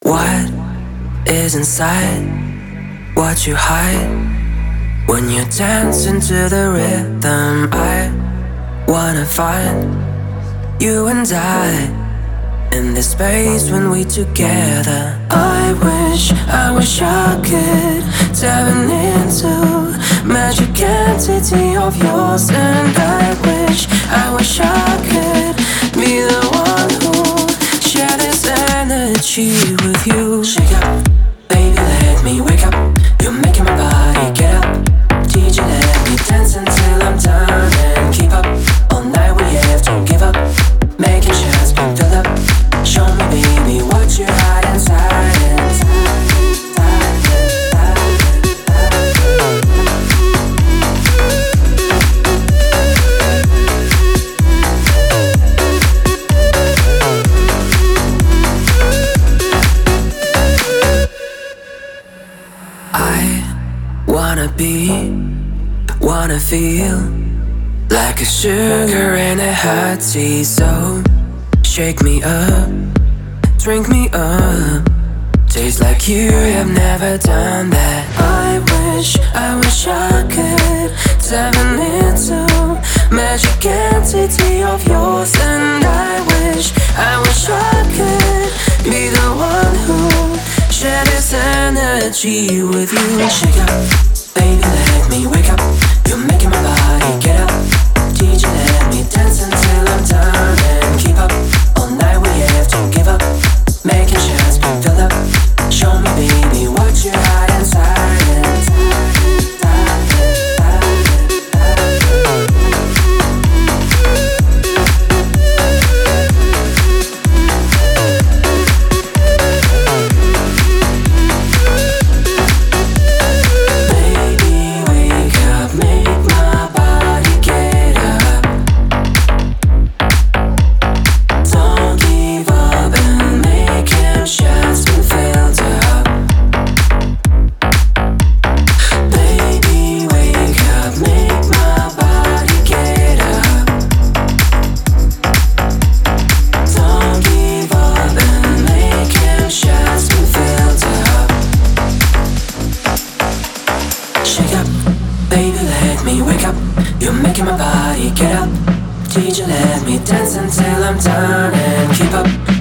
What is inside what you hide? When you dance into the rhythm, I wanna find you and I in this space when we together. I wish I could dive into magic entity of yours, and I wish I could be the one who share this energy with you. Shake up, baby, let me wake up. You're making my body get up. DJ, let me dance until I'm done and keep up. All night we have to give up, making shots be filled up. Show me, baby, what you hide inside. Wanna feel like a sugar in a hot tea. So shake me up, drink me up. Taste like you have never done that. I wish I could dive into magic entity of yours, and I wish I could be the one who share this energy with you. Shake up, baby, let me wake up. You're making my body get up. DJ, let me dance until I'm done and keep up. All night we have to give up, making shots be filled up. Show me, baby, what you hide inside. DJ, let me dance until I'm done and keep up.